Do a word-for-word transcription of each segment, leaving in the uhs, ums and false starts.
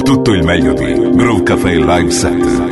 Tutto il meglio di Groove Café Live Set.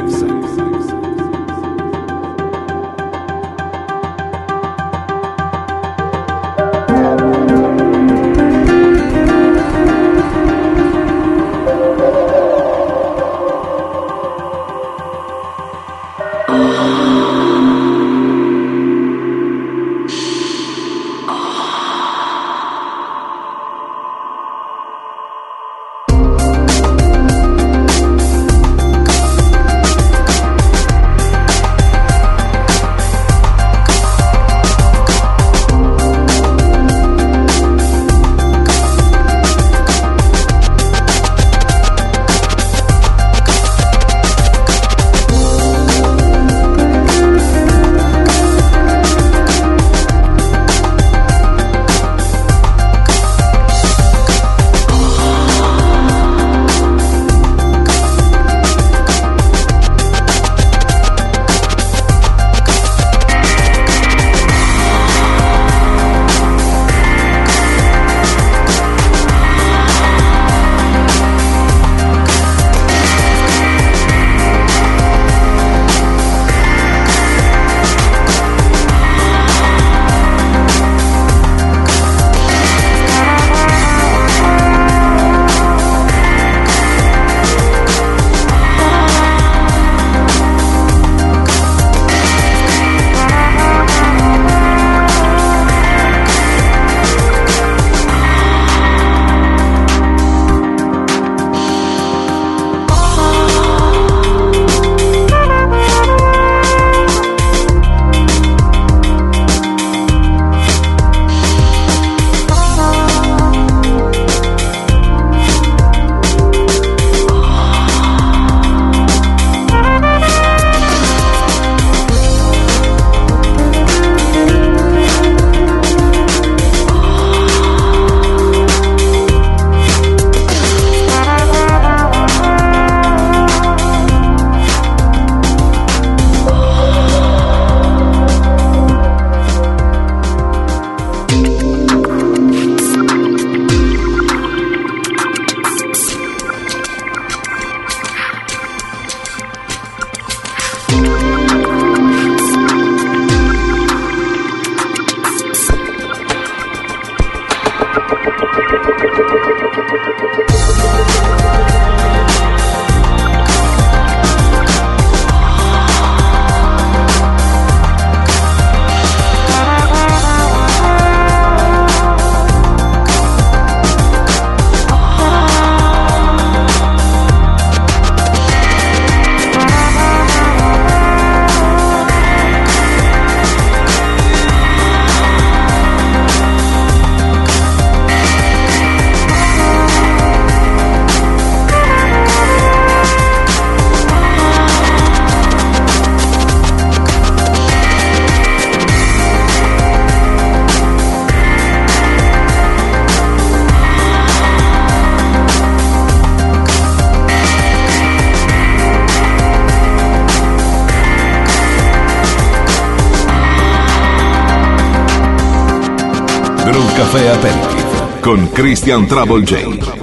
Café Aperitif con Christian Trouble J.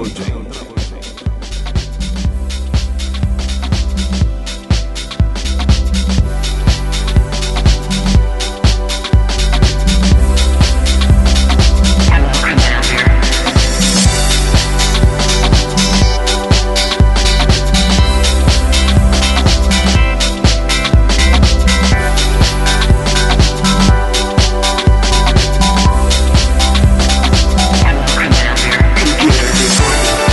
Computer before you.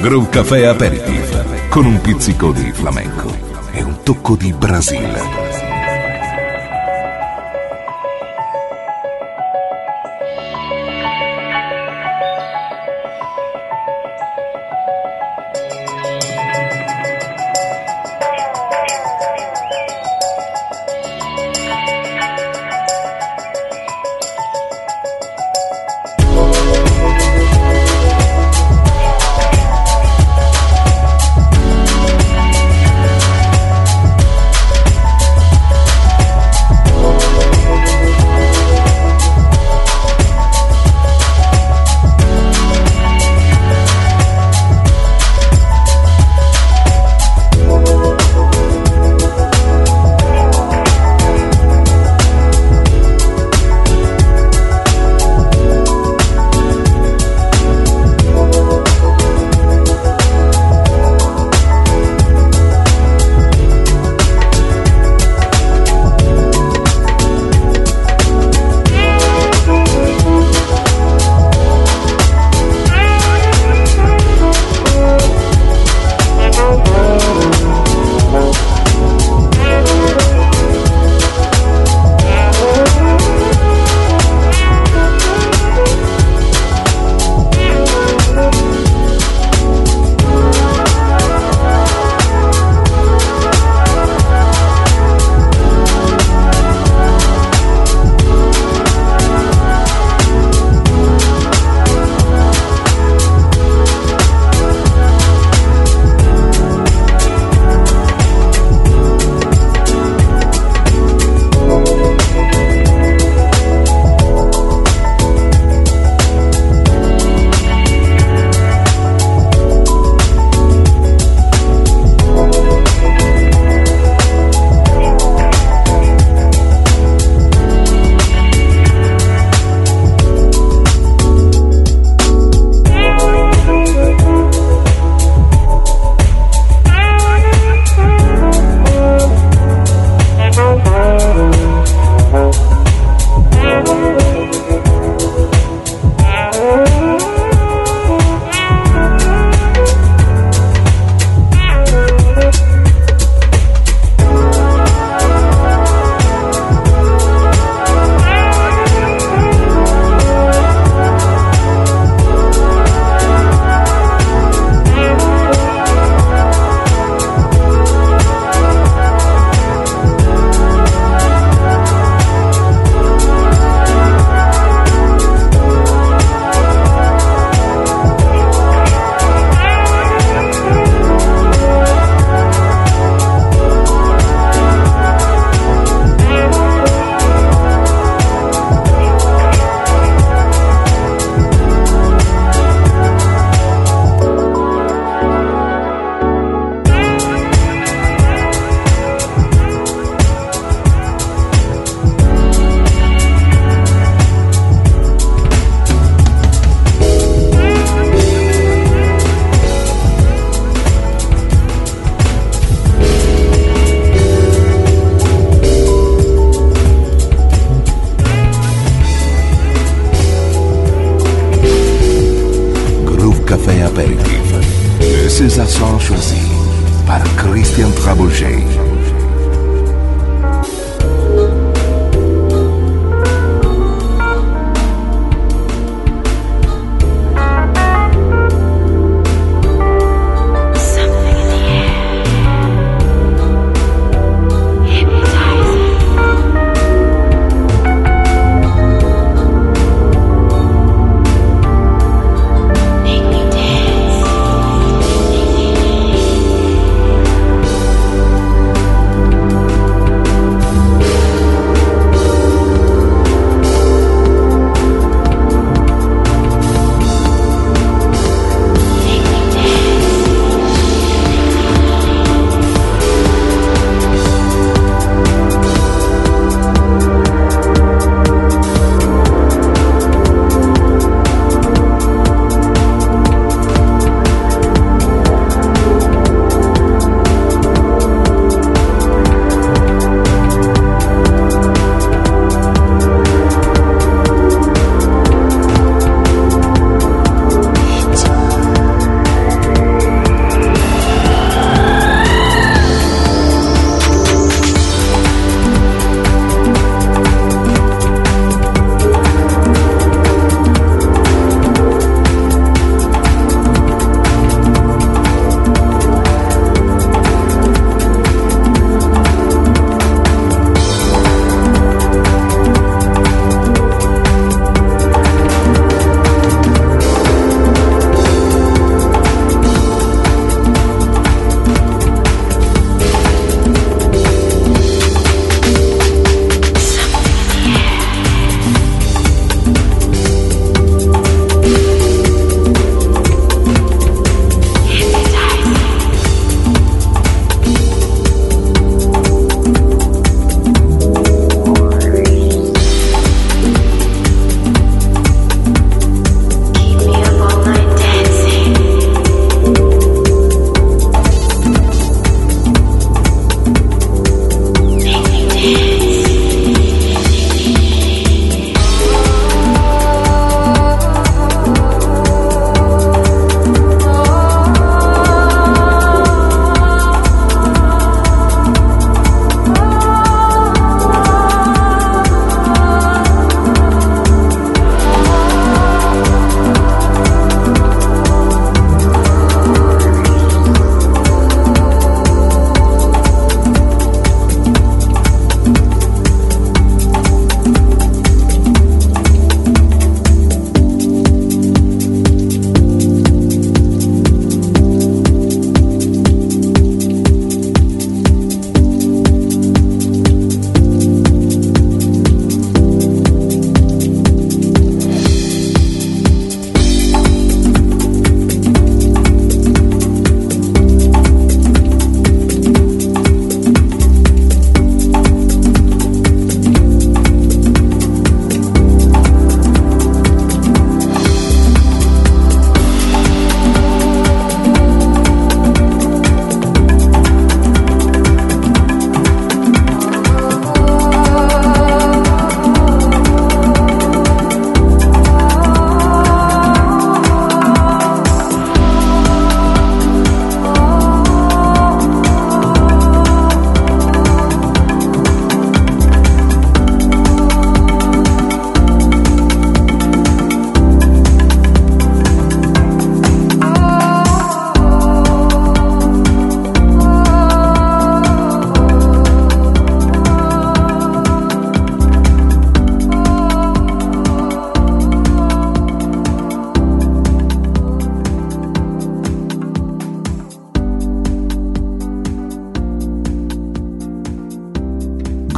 Groove Café Aperitif, con un pizzico di flamenco e un tocco di Brasile. Ces accents choisis par Christian Trabolger.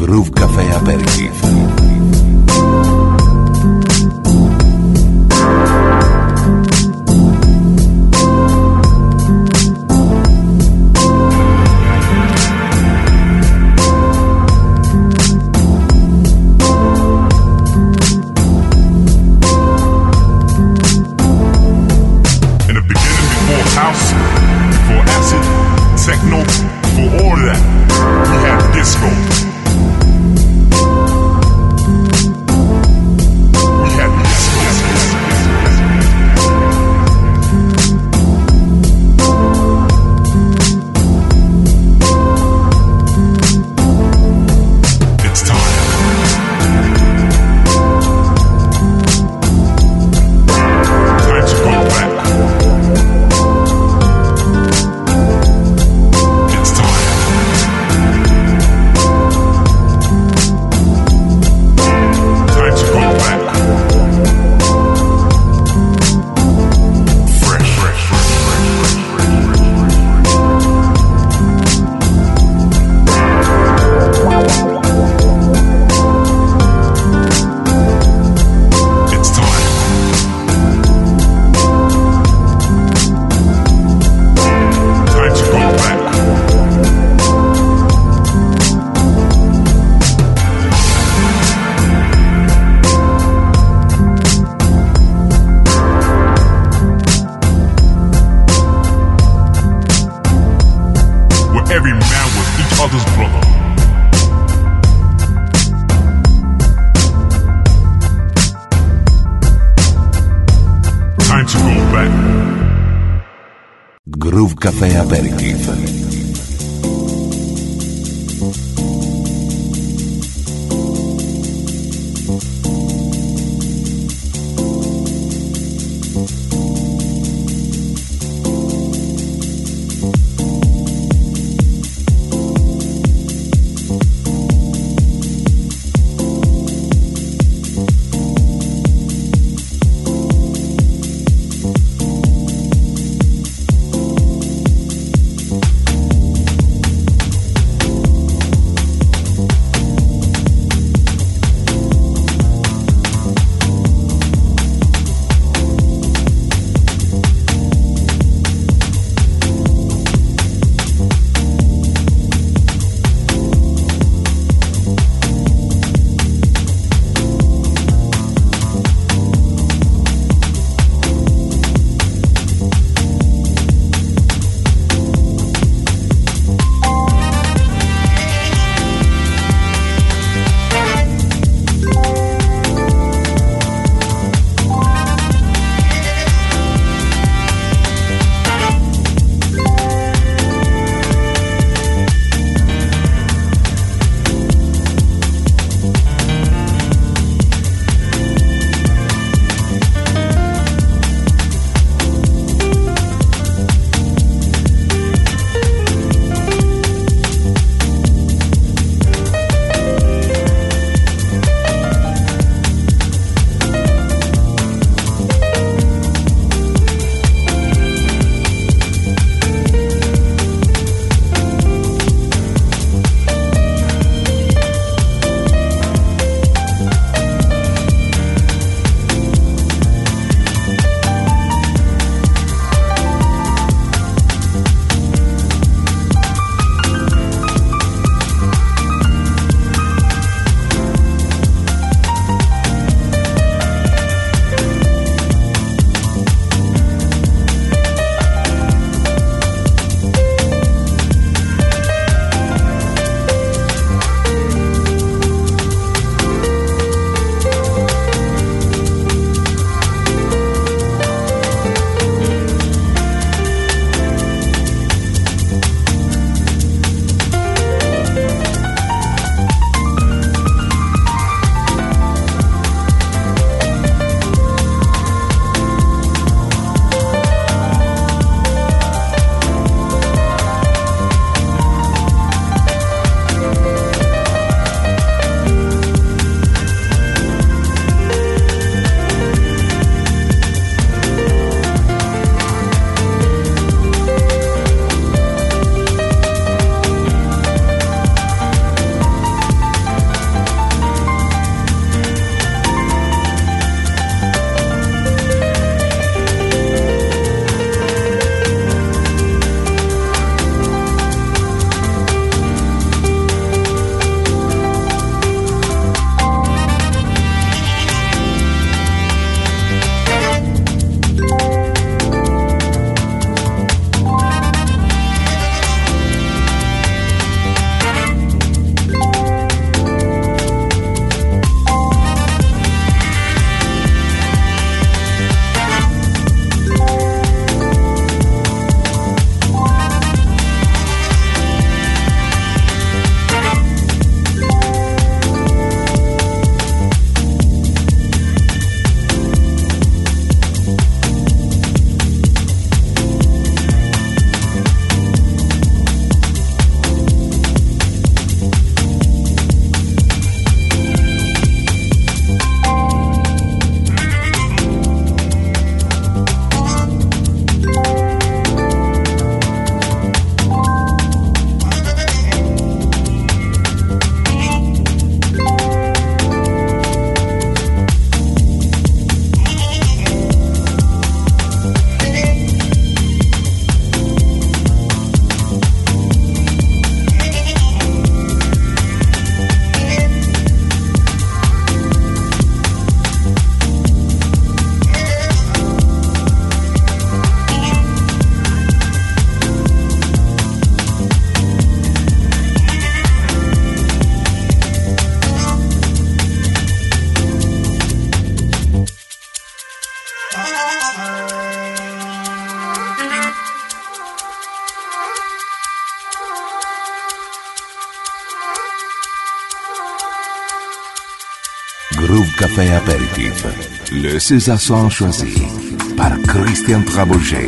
Groove Café Aperitif. Groove Café Aperitif. Groove Café Apéritif. Le César choisi par Christian Trabouget.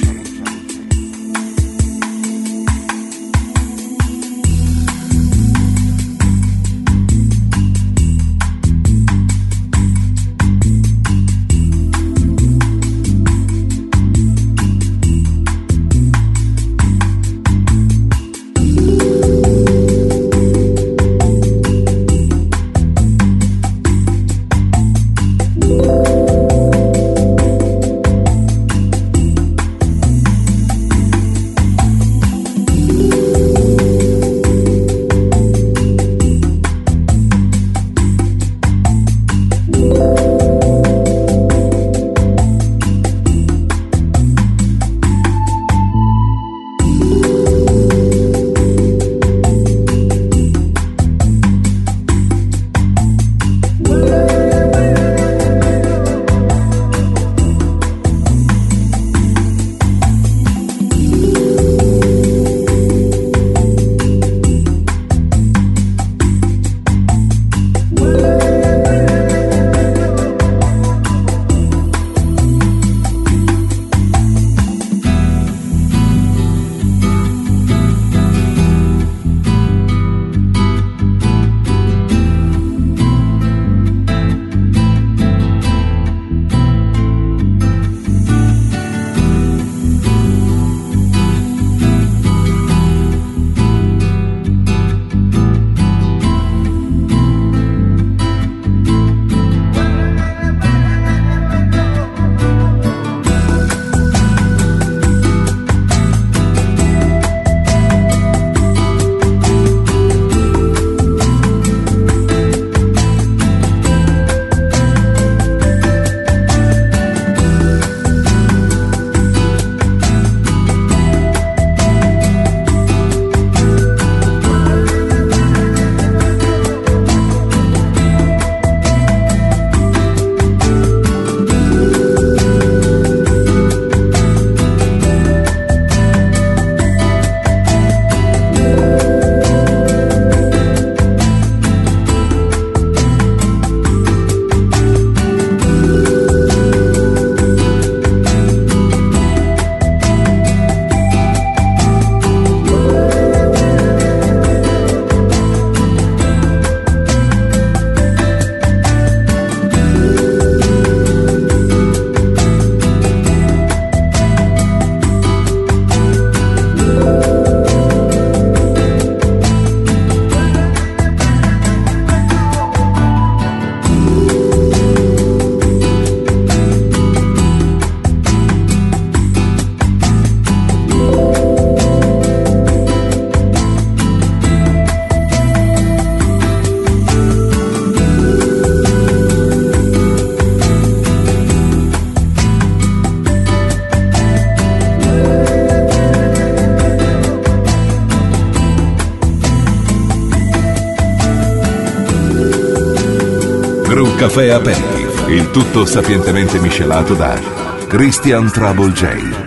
Groove Café Aperitif, il tutto sapientemente miscelato da Christian Trabouget.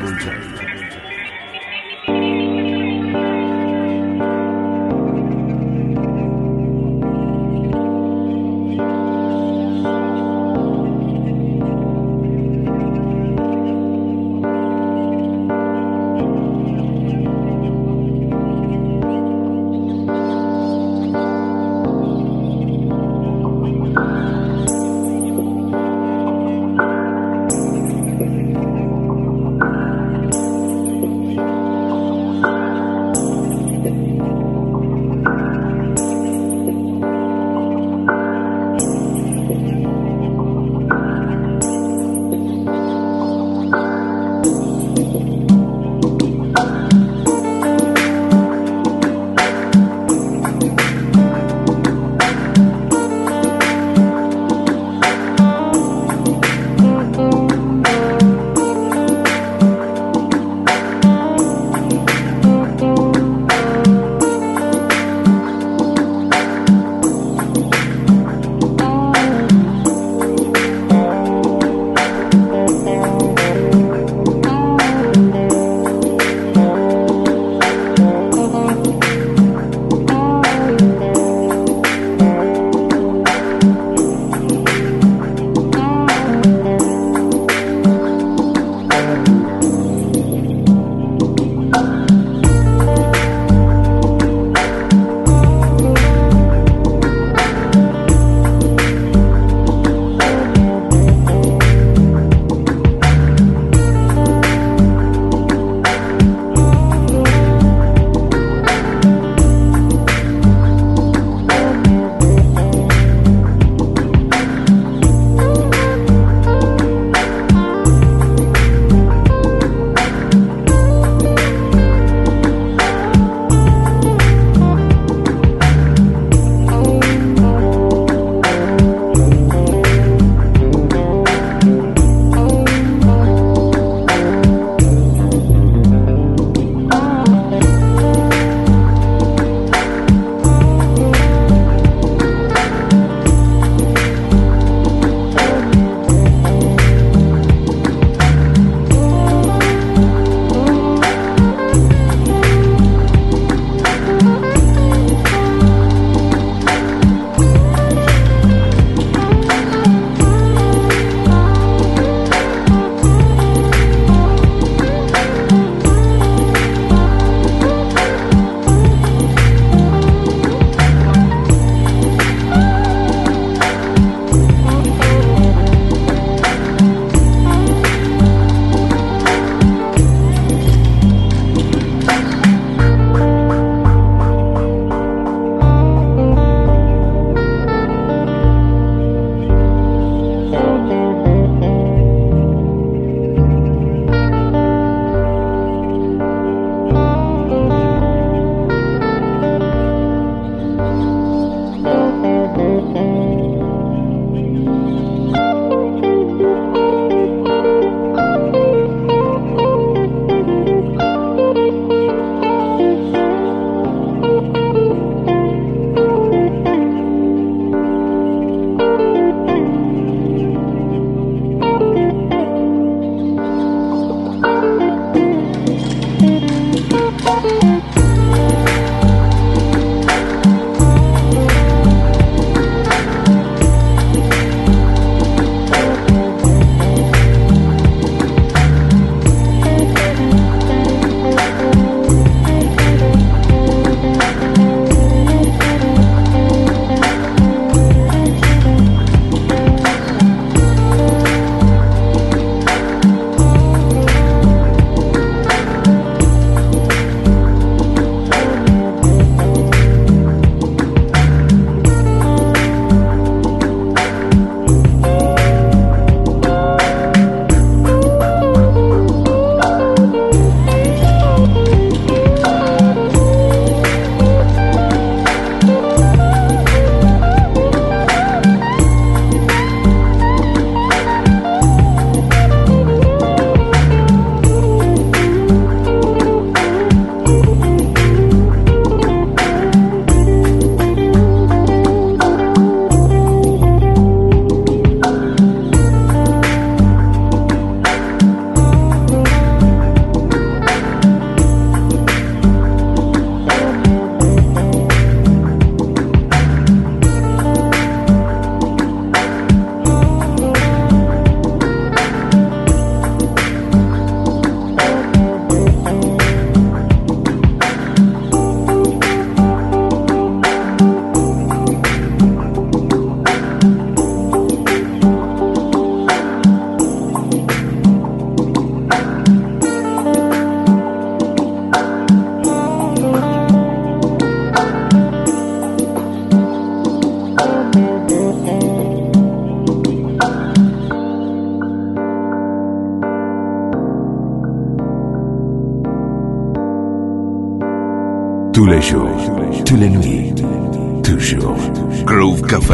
tous les jours, toutes les nuits, toujours. Groove Café.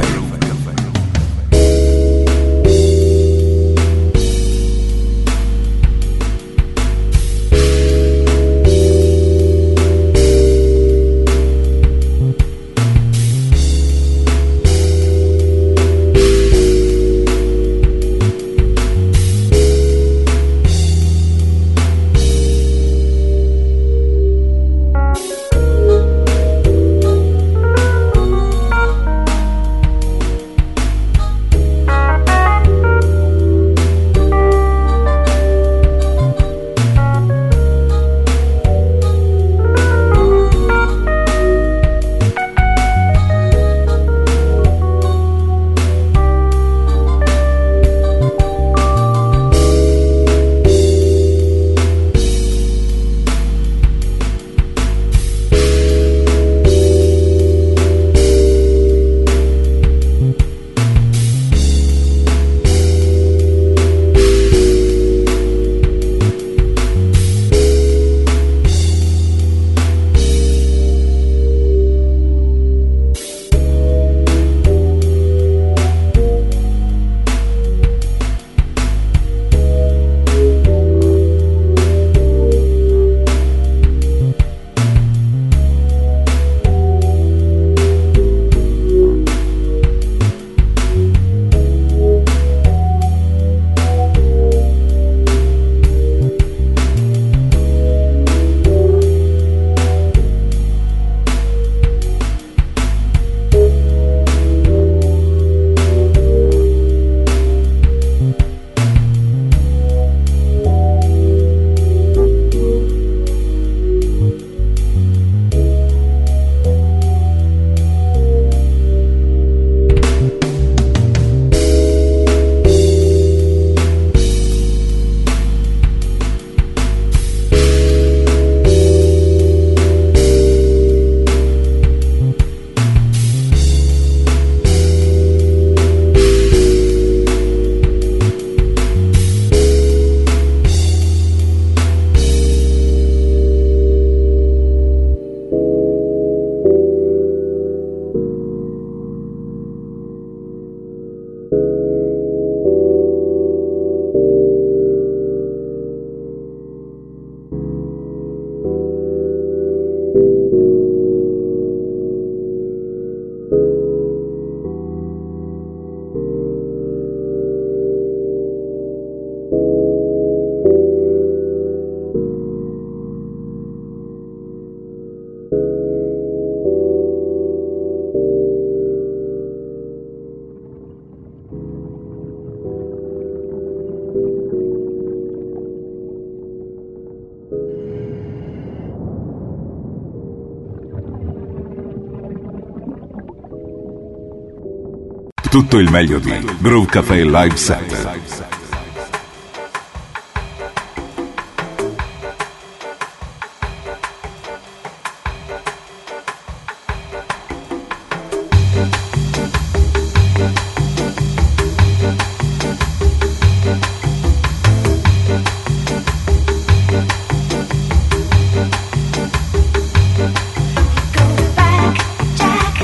Tutto il meglio di Groove Café Live Set.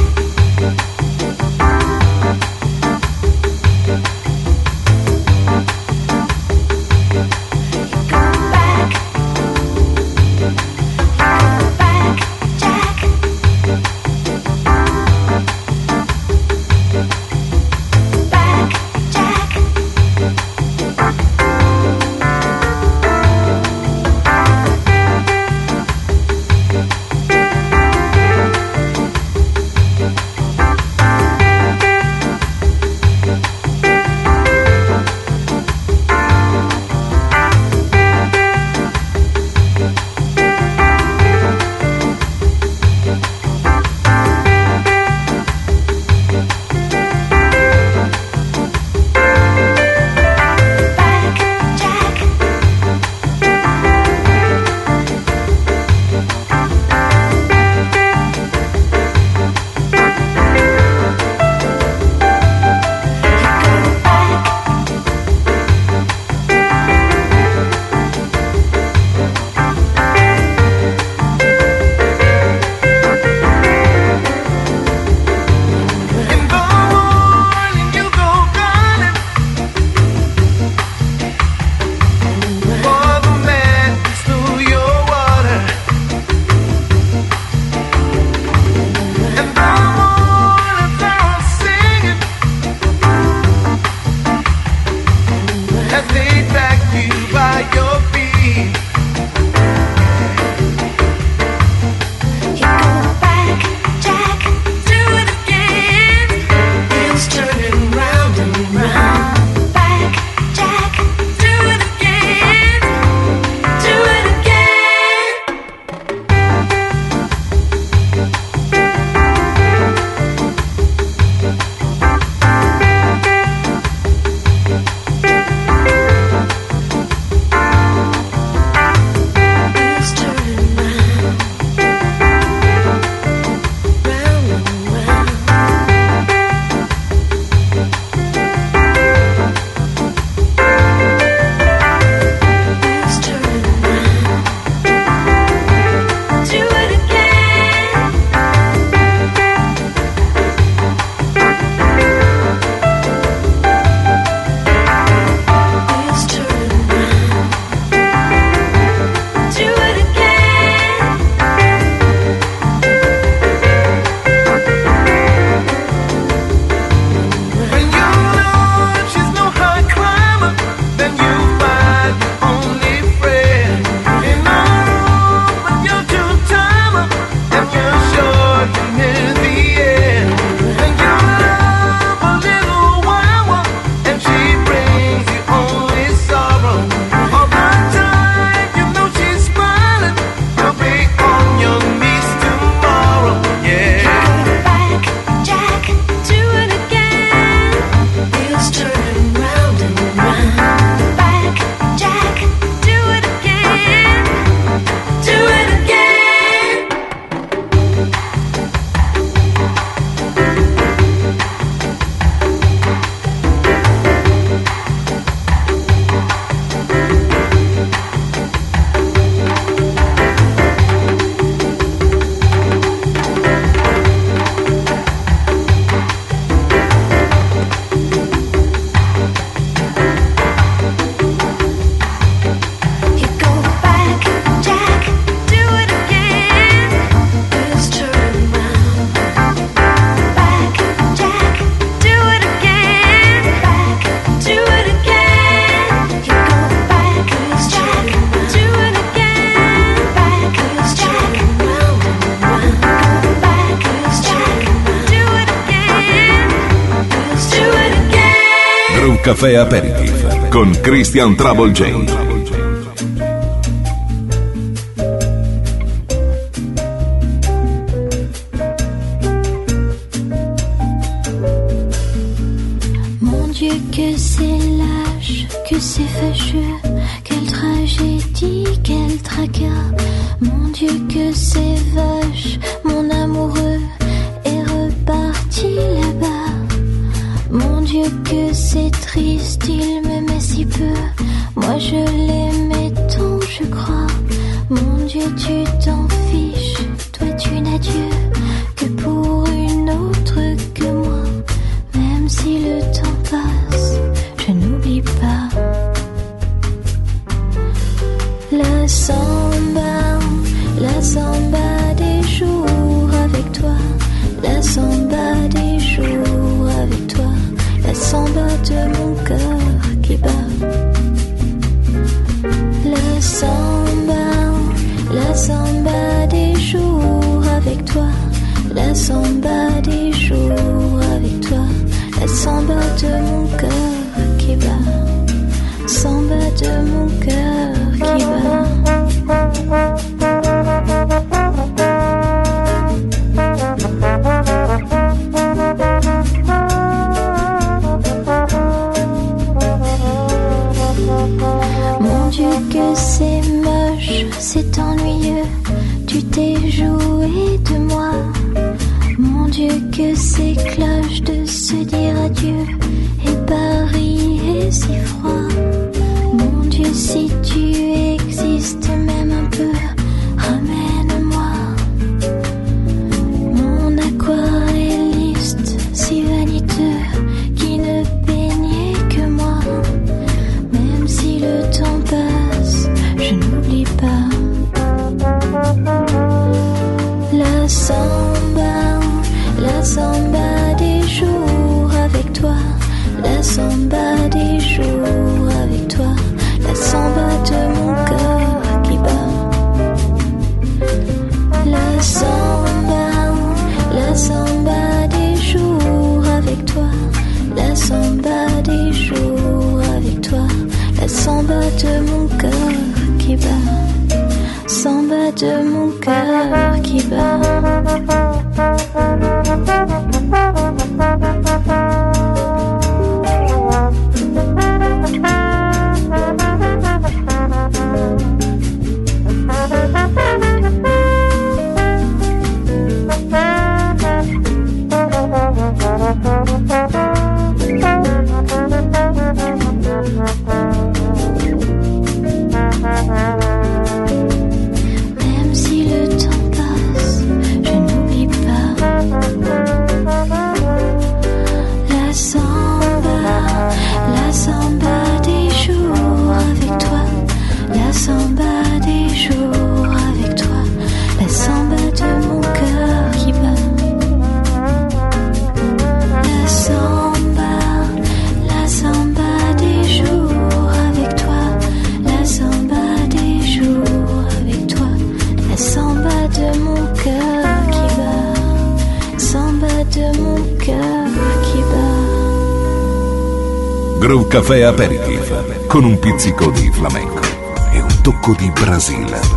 Go back, Jack. Café Aperitif con Christian Trouble J. Que c'est lâche, que c'est fâcheux, quelle tragédie, quel tracas. Mon Dieu que c'est vache, mon amoureux est reparti là-bas. Mon Dieu que c'est triste, il me met si peu. Moi je l'aimais tant, je crois. Mon Dieu tu t'en fiches, toi tu n'as Dieu que pour une autre que moi. Même si le temps passe, je n'oublie pas la samba, la samba des jours avec toi, la samba des jours avec toi, la samba de mon cœur qui bat. La samba, la samba des jours avec toi, la samba des jours avec toi. La samba de mon cœur qui bat, samba de mon cœur qui bat. Mon Dieu que c'est moche, c'est ennuyeux, tu t'es joué de moi. Mon Dieu que c'est cloche de se dire adieu, et Paris est si froid. Mon Dieu si tu existes même un peu, ramène-moi. Mon aquarelliste si vaniteux, qui ne peignait que moi. Même si le temps passe, je n'oublie pas la samba, la samba des jours avec toi, la samba des jours avec toi, la samba de mon cœur qui bat. La samba, la samba des jours avec toi, la samba des jours avec toi, la samba de mon cœur qui bat, samba de mon cœur qui bat. Même si le temps passe, je n'oublie pas la samba, la samba des jours avec toi, la samba des jours avec toi, la samba de mon cœur qui bat. La samba, la samba des jours avec toi, la samba des jours avec toi, la samba de mon cœur qui bat, samba de mon cœur qui bat. Groove Café Aperitif con un pizzico di flamenco e un tocco di Brasile.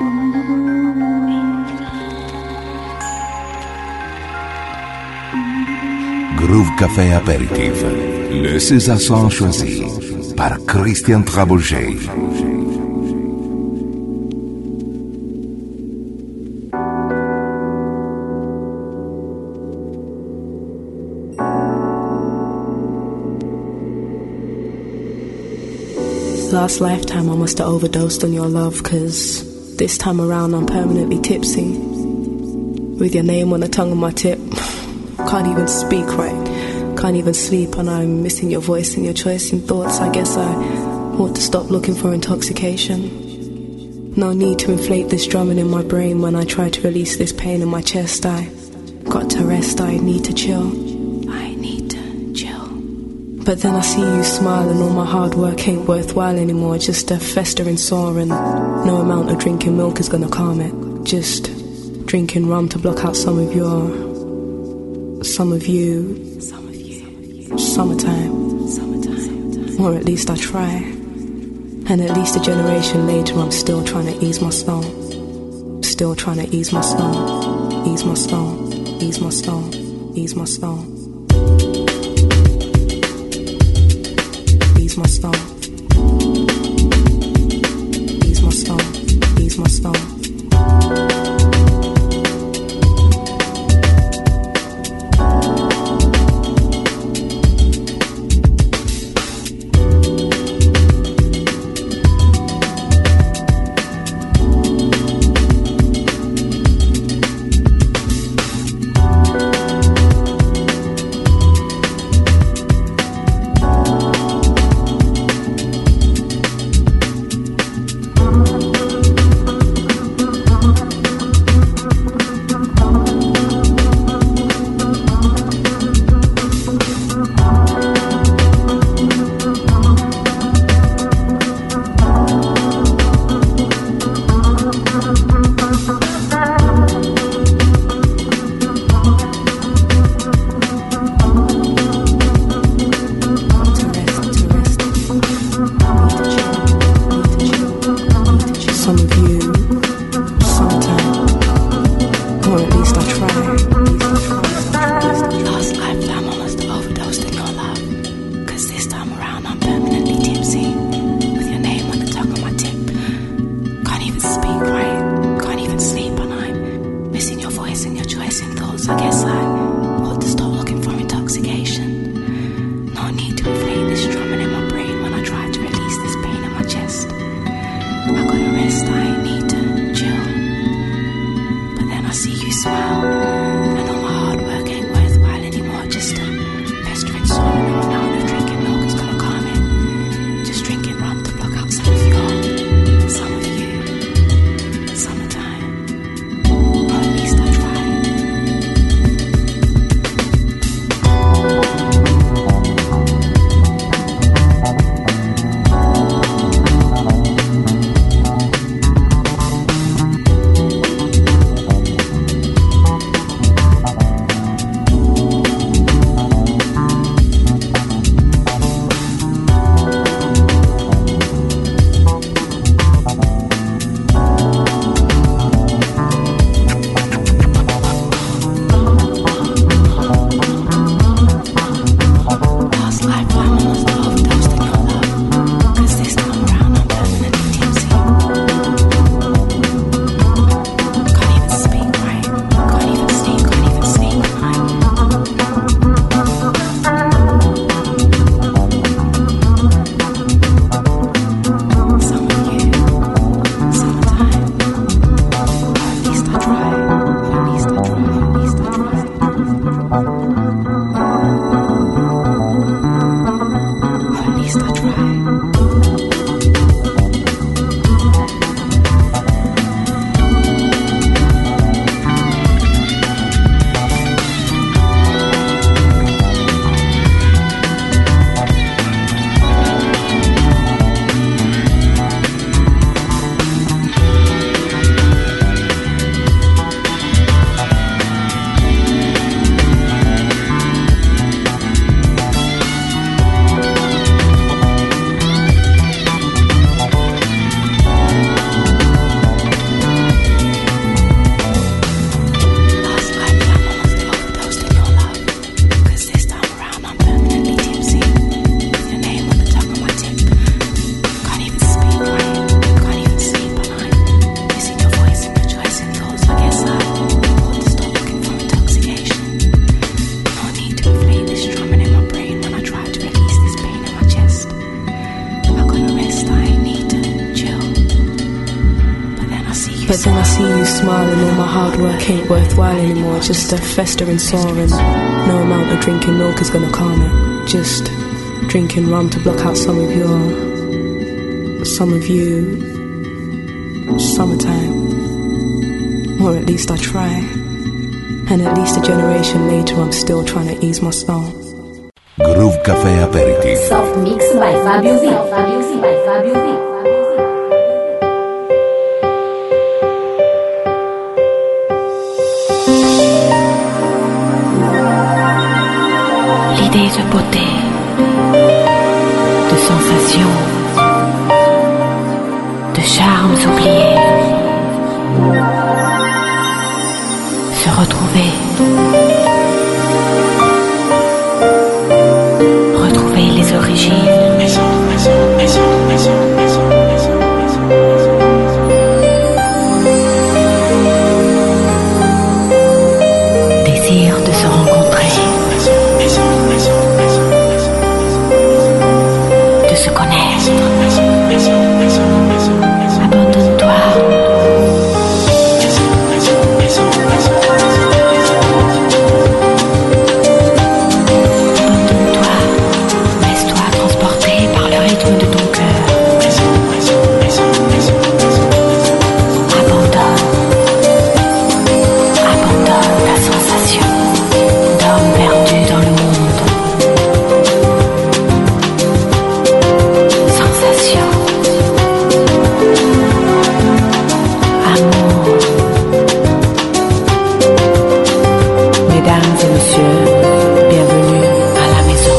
Groove Café Aperitif, le César choisi par Christian Trabouget. Last lifetime I must have overdosed on your love, cause this time around I'm permanently tipsy, with your name on the tongue of my tip. Can't even speak right, can't even sleep, and I'm missing your voice and your choice in thoughts. I guess I ought to stop looking for intoxication. No need to inflate this drumming in my brain when I try to release this pain in my chest. I got to rest, I need to chill. I need to chill. But then I see you smile and all my hard work ain't worthwhile anymore. Just a festering sore, and no amount of drinking milk is gonna calm it. Just drinking rum to block out some of your, some of you, some of you, summertime, summertime, or at least I try. And at least a generation later I'm still trying to ease my soul, still trying to ease my soul, ease my soul, ease my soul, ease my soul. Ease my soul, ease my soul, ease my soul. But then I see you smile and all my hard work ain't worthwhile anymore. Just a festering sore and no amount of drinking milk is gonna calm it. Just drinking rum to block out some of your, some of you, summertime. Or at least I try. And at least a generation later I'm still trying to ease my soul. Groove Café Aperitif. Soft Mix by Fabio V. Fabio V. by Fabio V. L'idée de beauté, de sensations, de charmes oubliés, se retrouver, retrouver les origines. Maison, maison, maison, maison, maison, maison, maison, maison. Désir de se rencontrer, de se connaître. Abandonne-toi. Abandonne-toi. Laisse-toi transporter par le rythme de ton cœur. Abandonne. Abandonne ta sensation d'homme perdu dans le monde. Sensation. Amour. Mesdames et messieurs, bienvenue à la maison.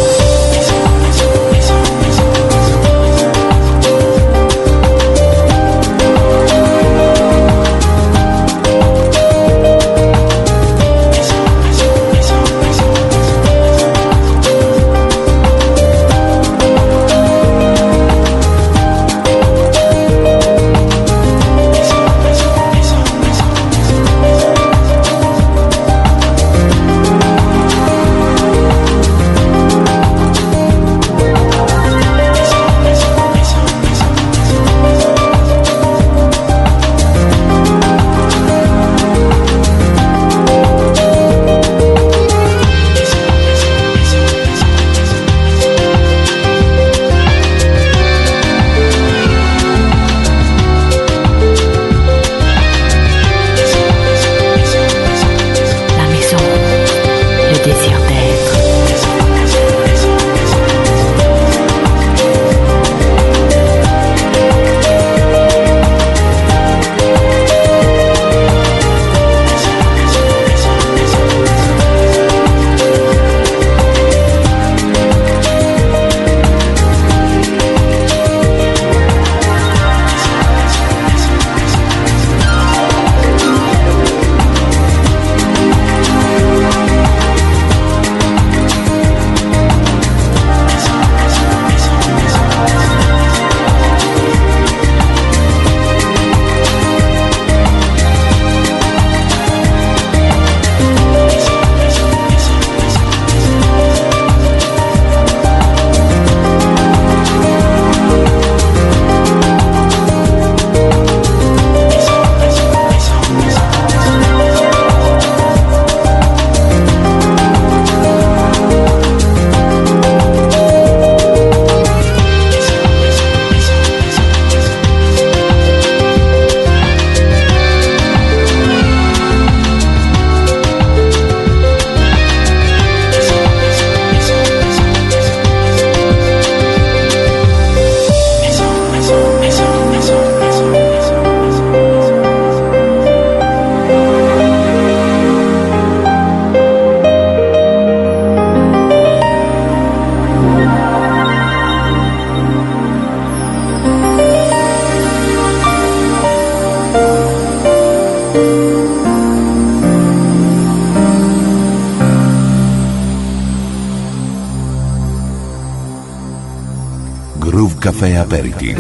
Groove Café Aperitif.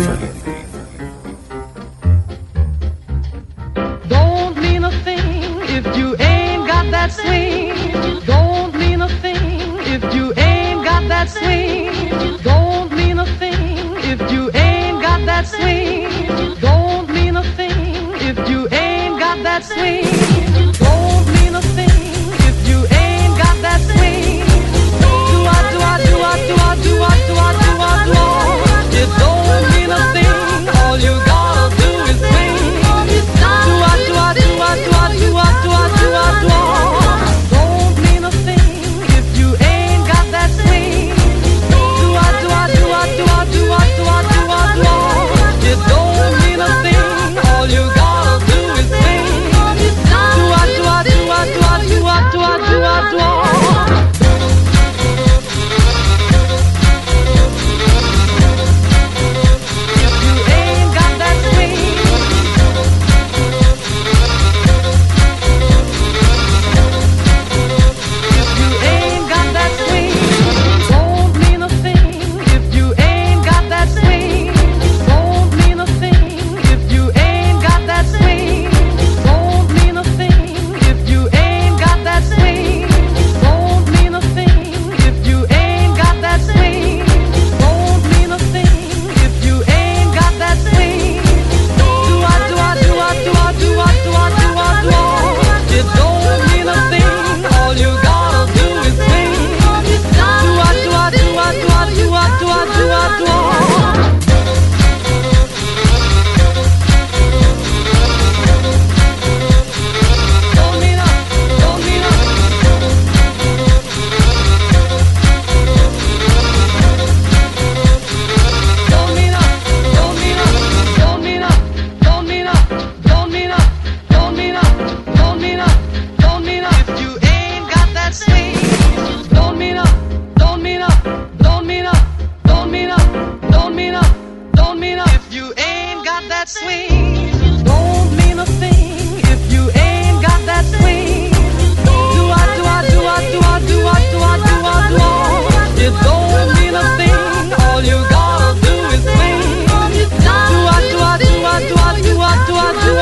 Don't mean a thing if you ain't got that swing. Don't mean a thing if you ain't got that swing. Don't mean a thing if you ain't got that swing. Don't mean a thing if you ain't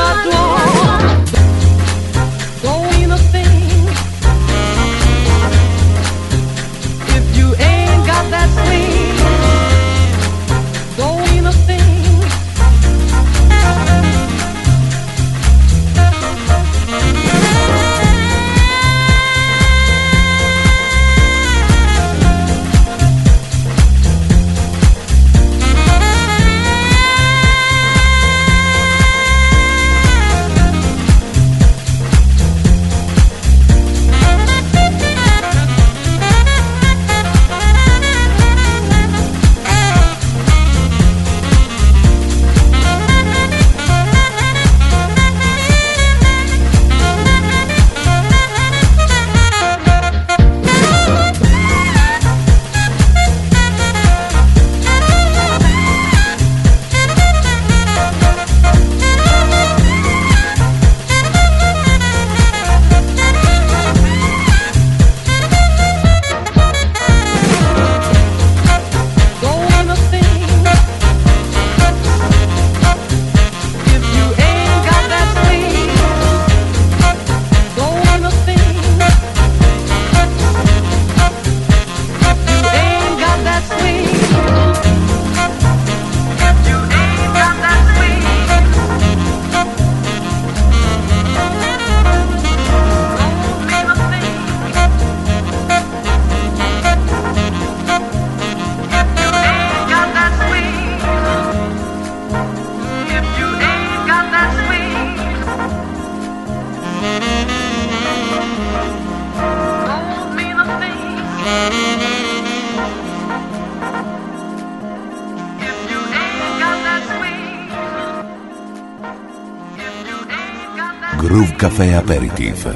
Groove Café Aperitif.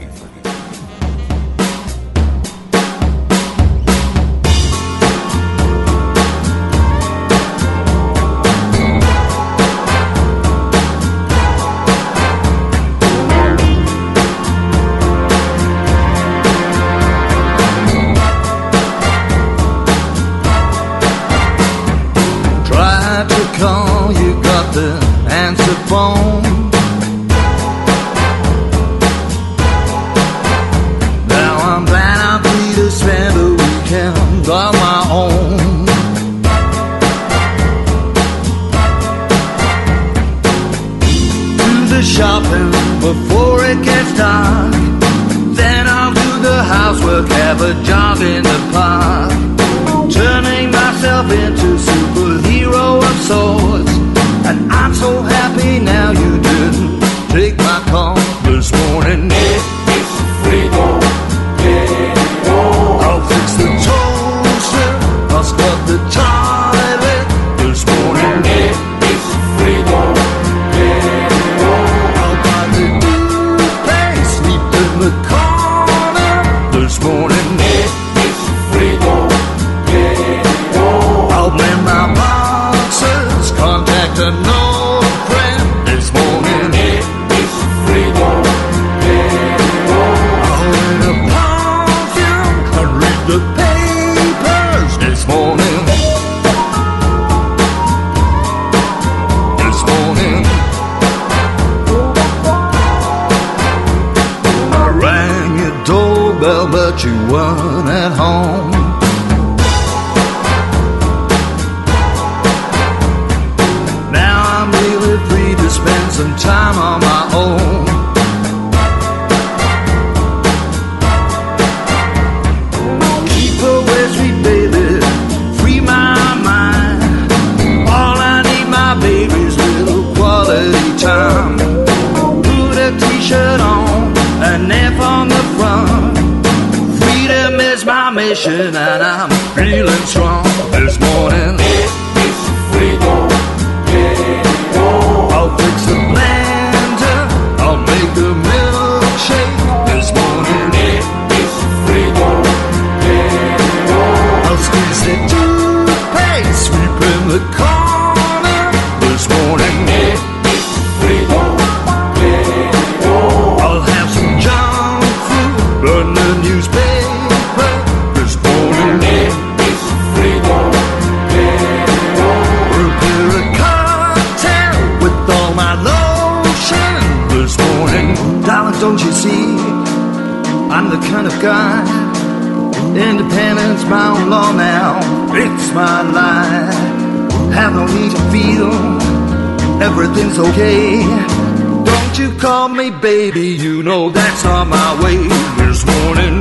And I'm feeling strong this morning. I'll fix the blender, I'll make a milkshake this morning. I'll squeeze the toothpaste, sweep in the corner this morning. I'll have some junk food, burn the newspaper. don't you see? I'm the kind of guy, independence bound law now. It's my life. Have no need to feel everything's okay. Don't you call me baby, you know that's not my way. This morning,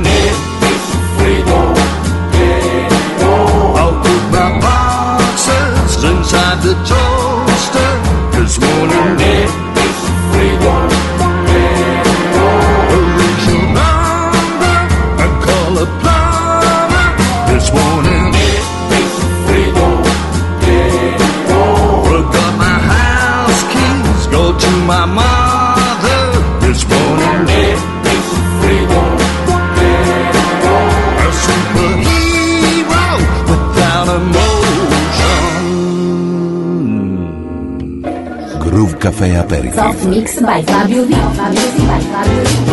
I'll put my boxes inside the toaster. This morning, arrange your number and call a plumber. This morning, forgot my house keys, go to my mother. This morning, a superhero without emotion. Groove Café Aperitif. Soft Mix by Fabio V. Fabio V by Fabio V.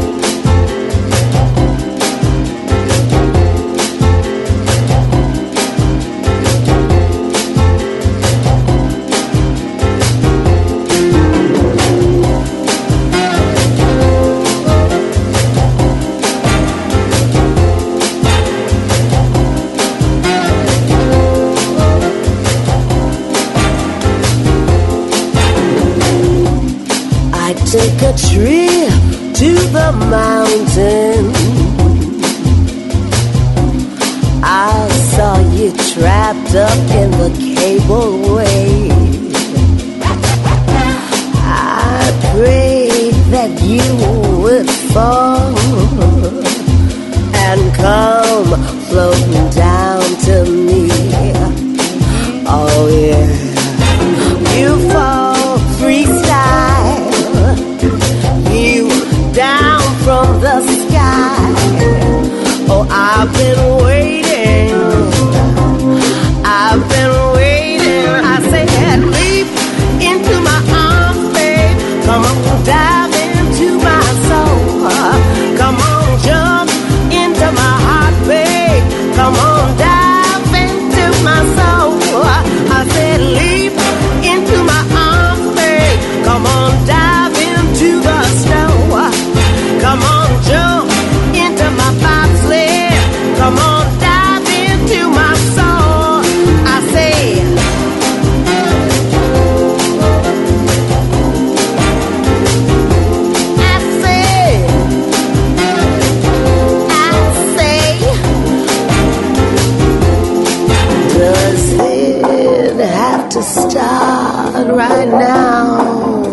Take a trip to the mountain. I saw you trapped up in the cableway. I prayed that you would fall and come floating down to me. Oh yeah, you fall freestyle. You down from the sky. Oh, I've been waiting. I've been waiting. I said, leap into my arms, babe. Come on, dive into my soul. Come on, jump into my heart, babe. Come on, dive into my soul. I said, leap into my arms, babe. Come on, dive into the snow. Come on, jump into my bobsled. Come on, dive into my soul. I say, I say, I say, does it have to start right now?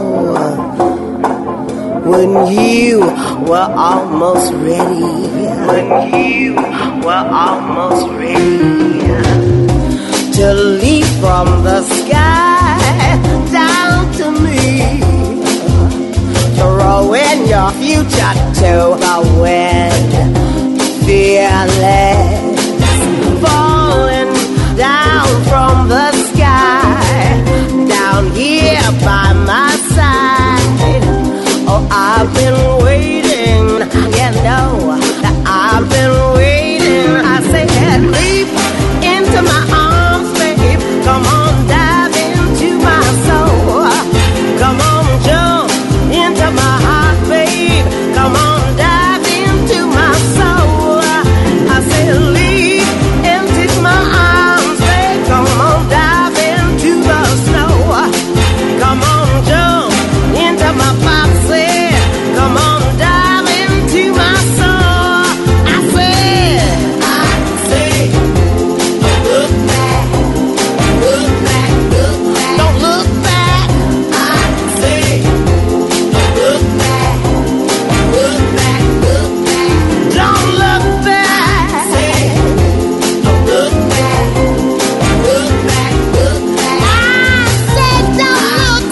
When you were almost ready, when you were almost ready to leap from the sky down to me, throwing your future to the wind, fearless, falling down from the sky, down here by my side. Oh, I've been waiting, you know, that I've been waiting. I said, leap into my arms, babe. Come on, dive into my soul. Come on, jump into my heart, babe. Come on, dive into my soul. I said, leap into my arms, babe. Come on, dive into the snow. Come on, jump into my bobsled. Come on, dive into my soul. I said, I say, don't look back, look back, look back. Don't look back. I say, don't look back, look back, look back. Don't look back. I say, don't look back, look back, look back. I said, don't look back.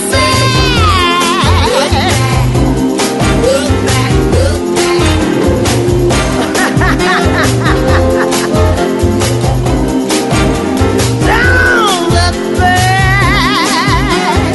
Look back, look back. Don't look back.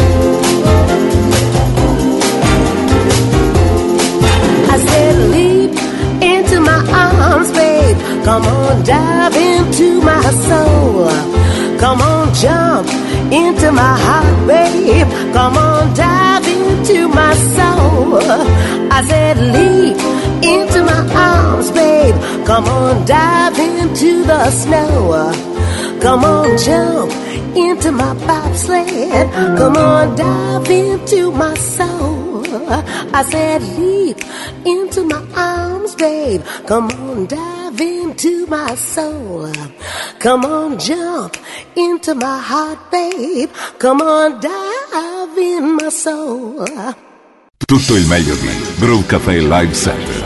I said, leap into my arms, babe. Come on, dive into my soul. Come on, jump into my heart, babe. Come on, dive into my soul. I said, leap into my arms, babe. Come on, dive into the snow. Come on, jump into my bobsled. Come on, dive into my soul. I said, leap into my arms, babe. Come on, dive into my soul. Come on, jump into my heart, babe. Come on, dive in my soul. Tutto il meglio di Groove Café Live Set.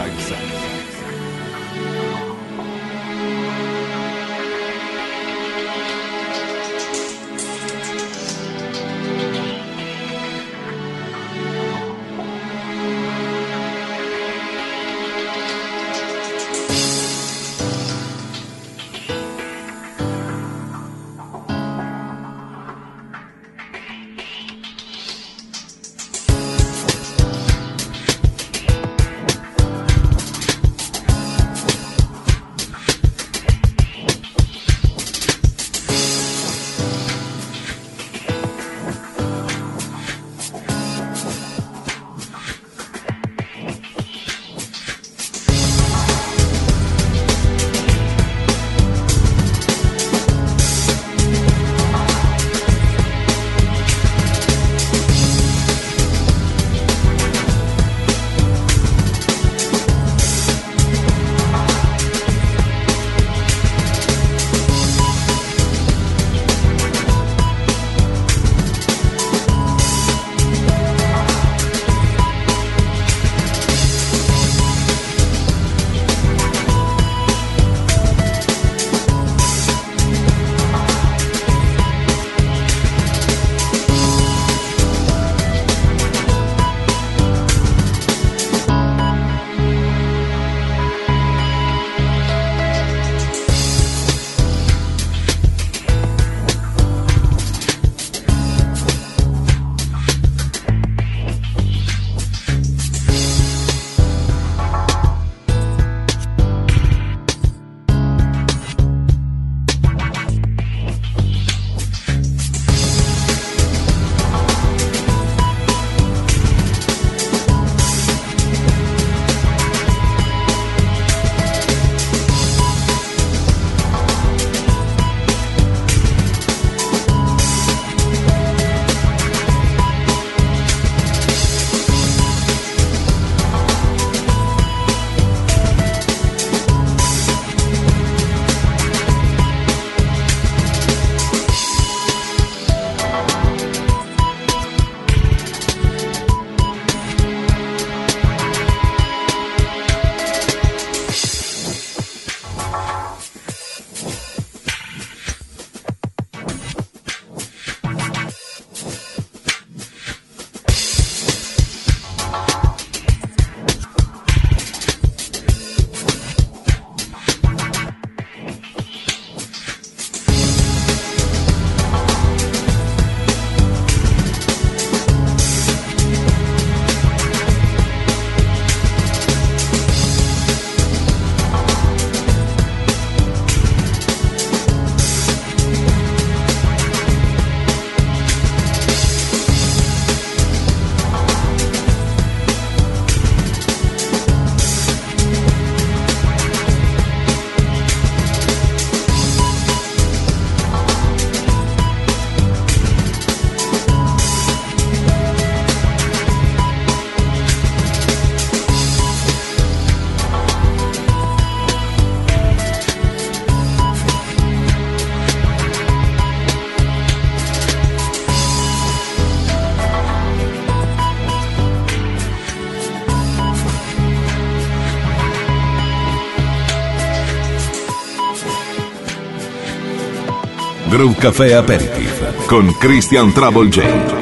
Groove Café Aperitif con Christian Trouble J.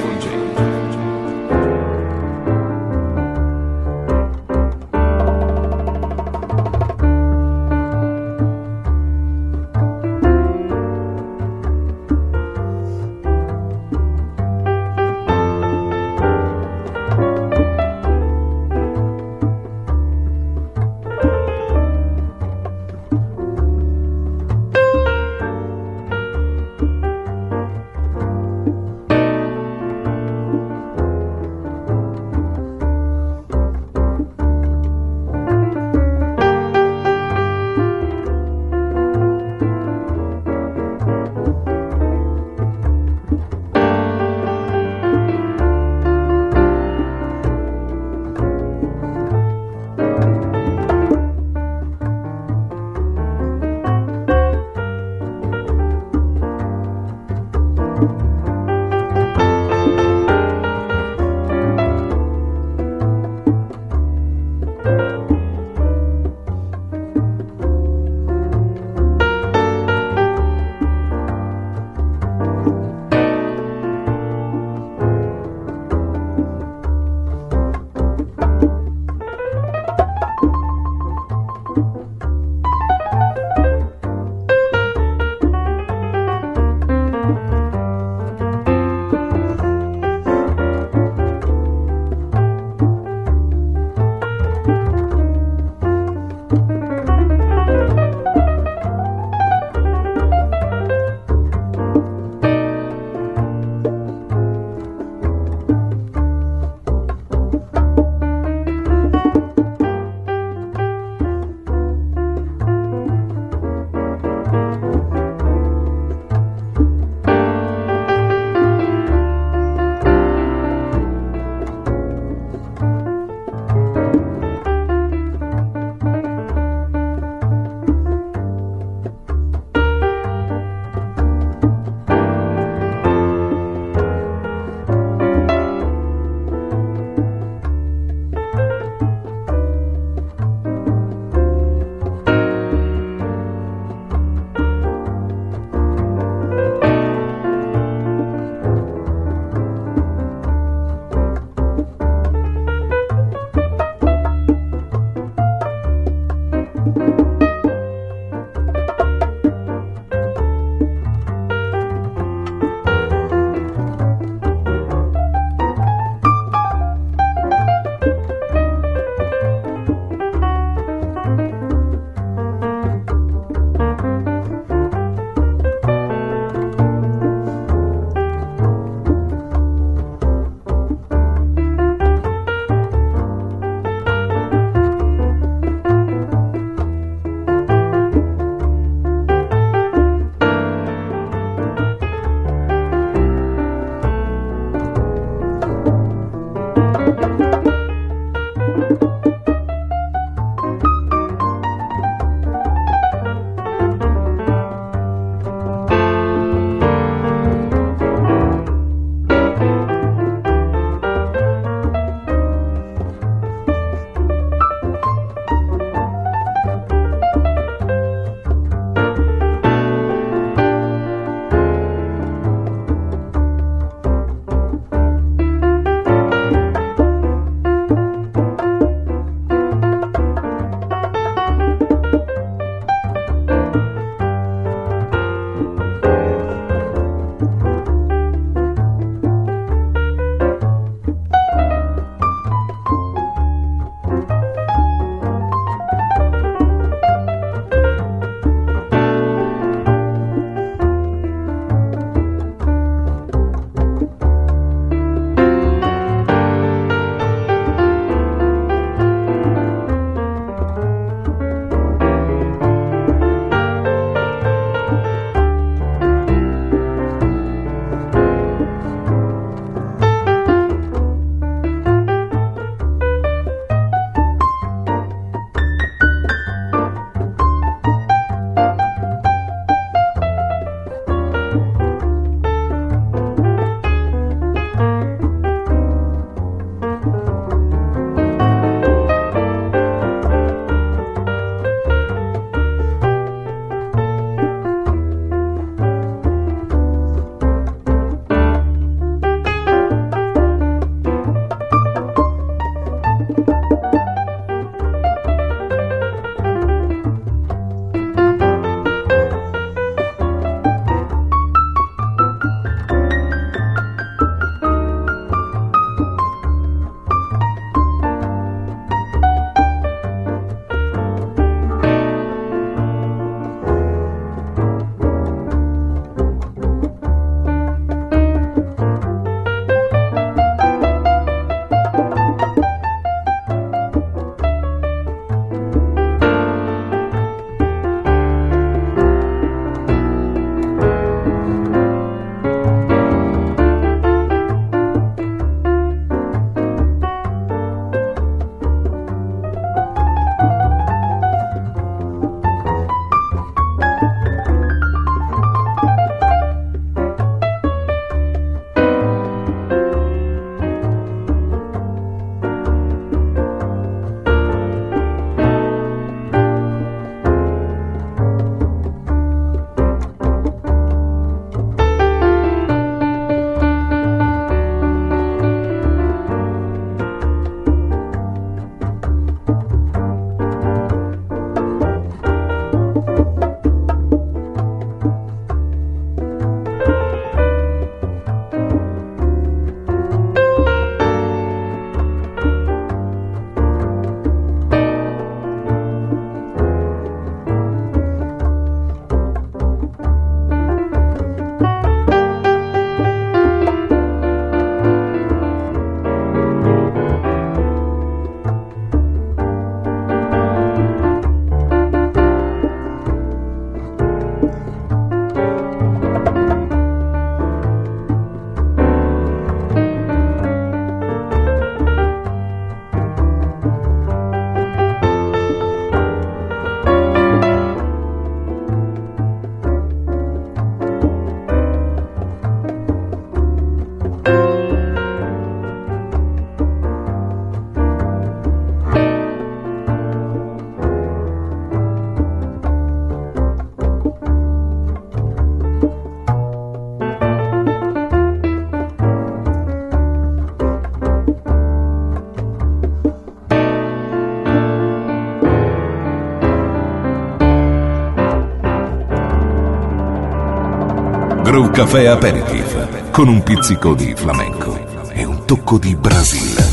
Retro Café Aperitif, con un pizzico di flamenco e un tocco di Brasile.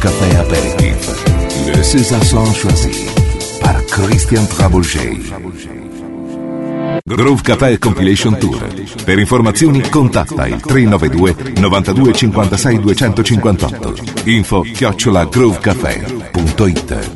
Café Apéritif. Le César Son choisi par Christian Trabouget. Groove Café Compilation Tour. Per informazioni contatta il tre nove due novantadue cinquantasei duecentocinquantotto. Info chiocciola groovecafé punto it.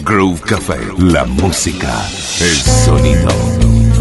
Groove Café, la música, el sonido.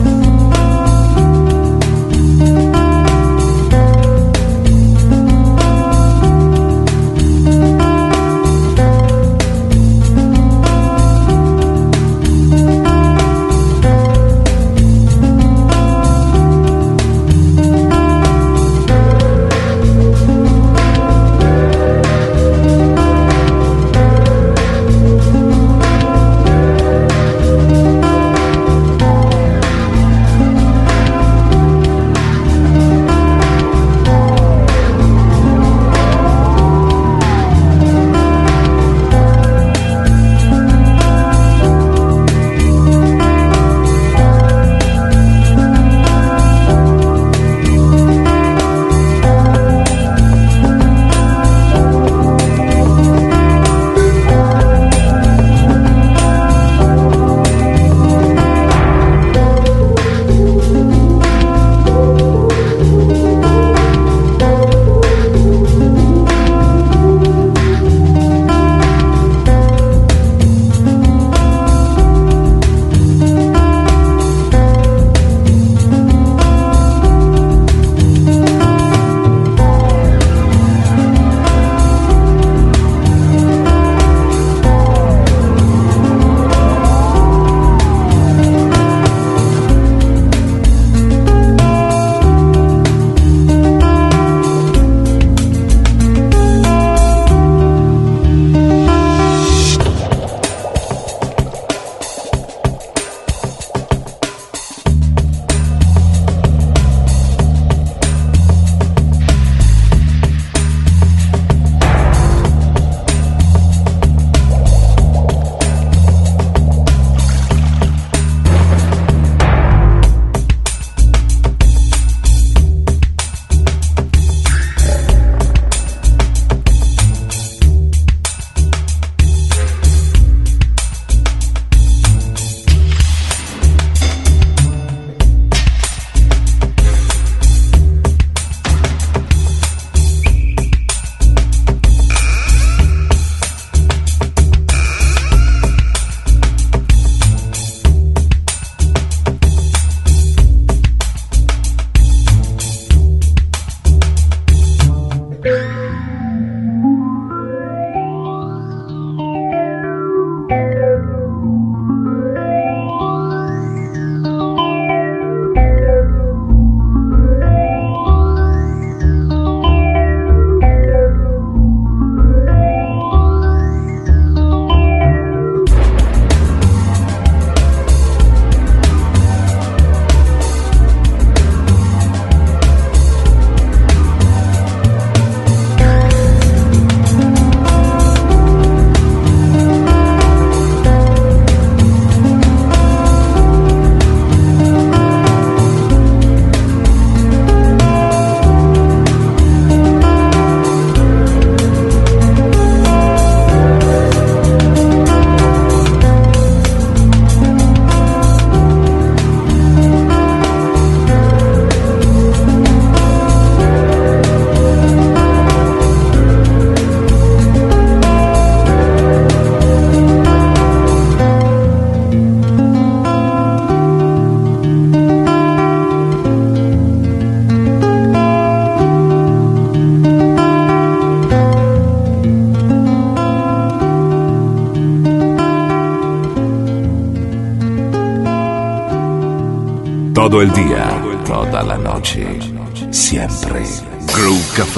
Todo el día, toda la noche, siempre. Groove Café.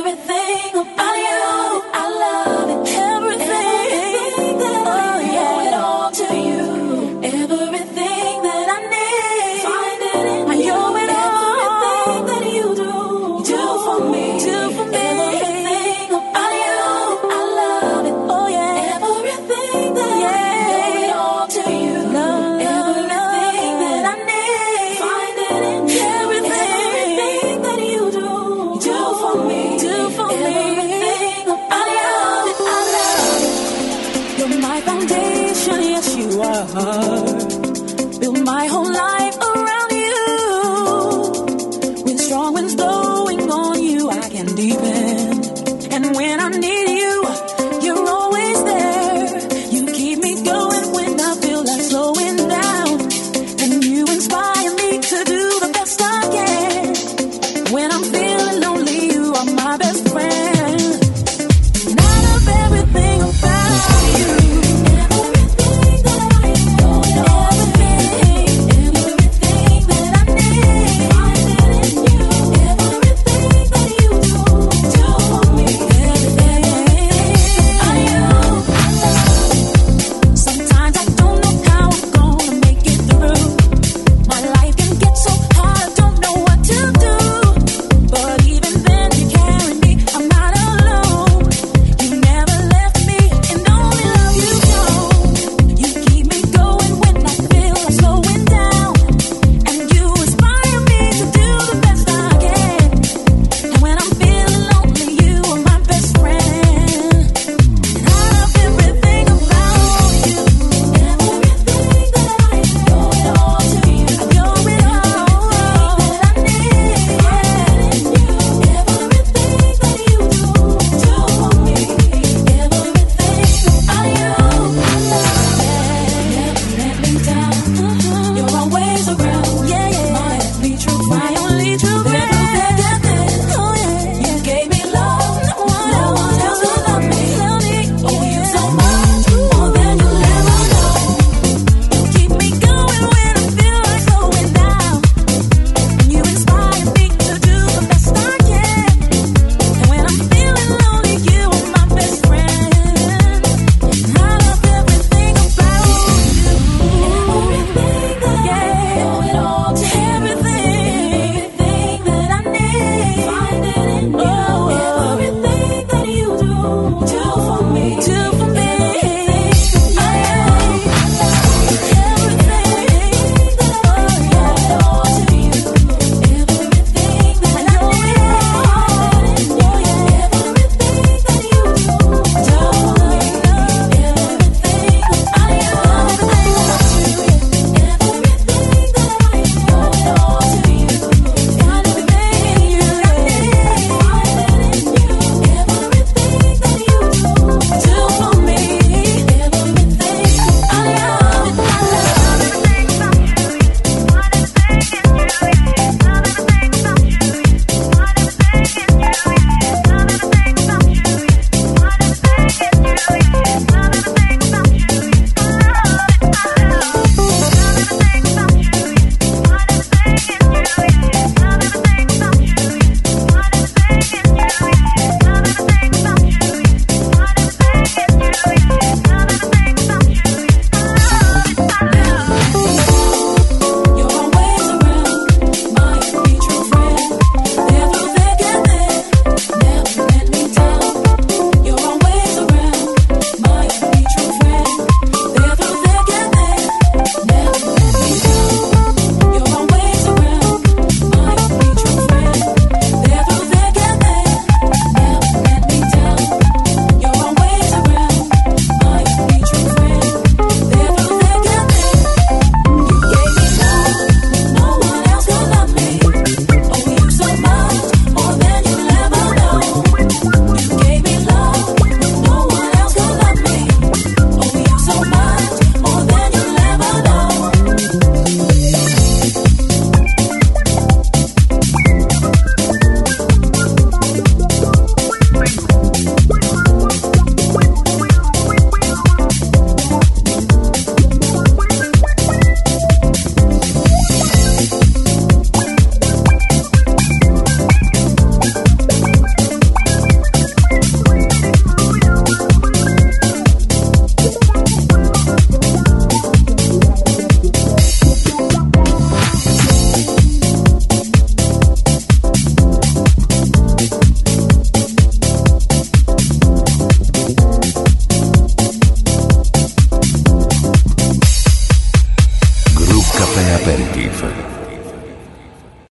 Everything about you, I love it. Everything that I, oh yeah, heart.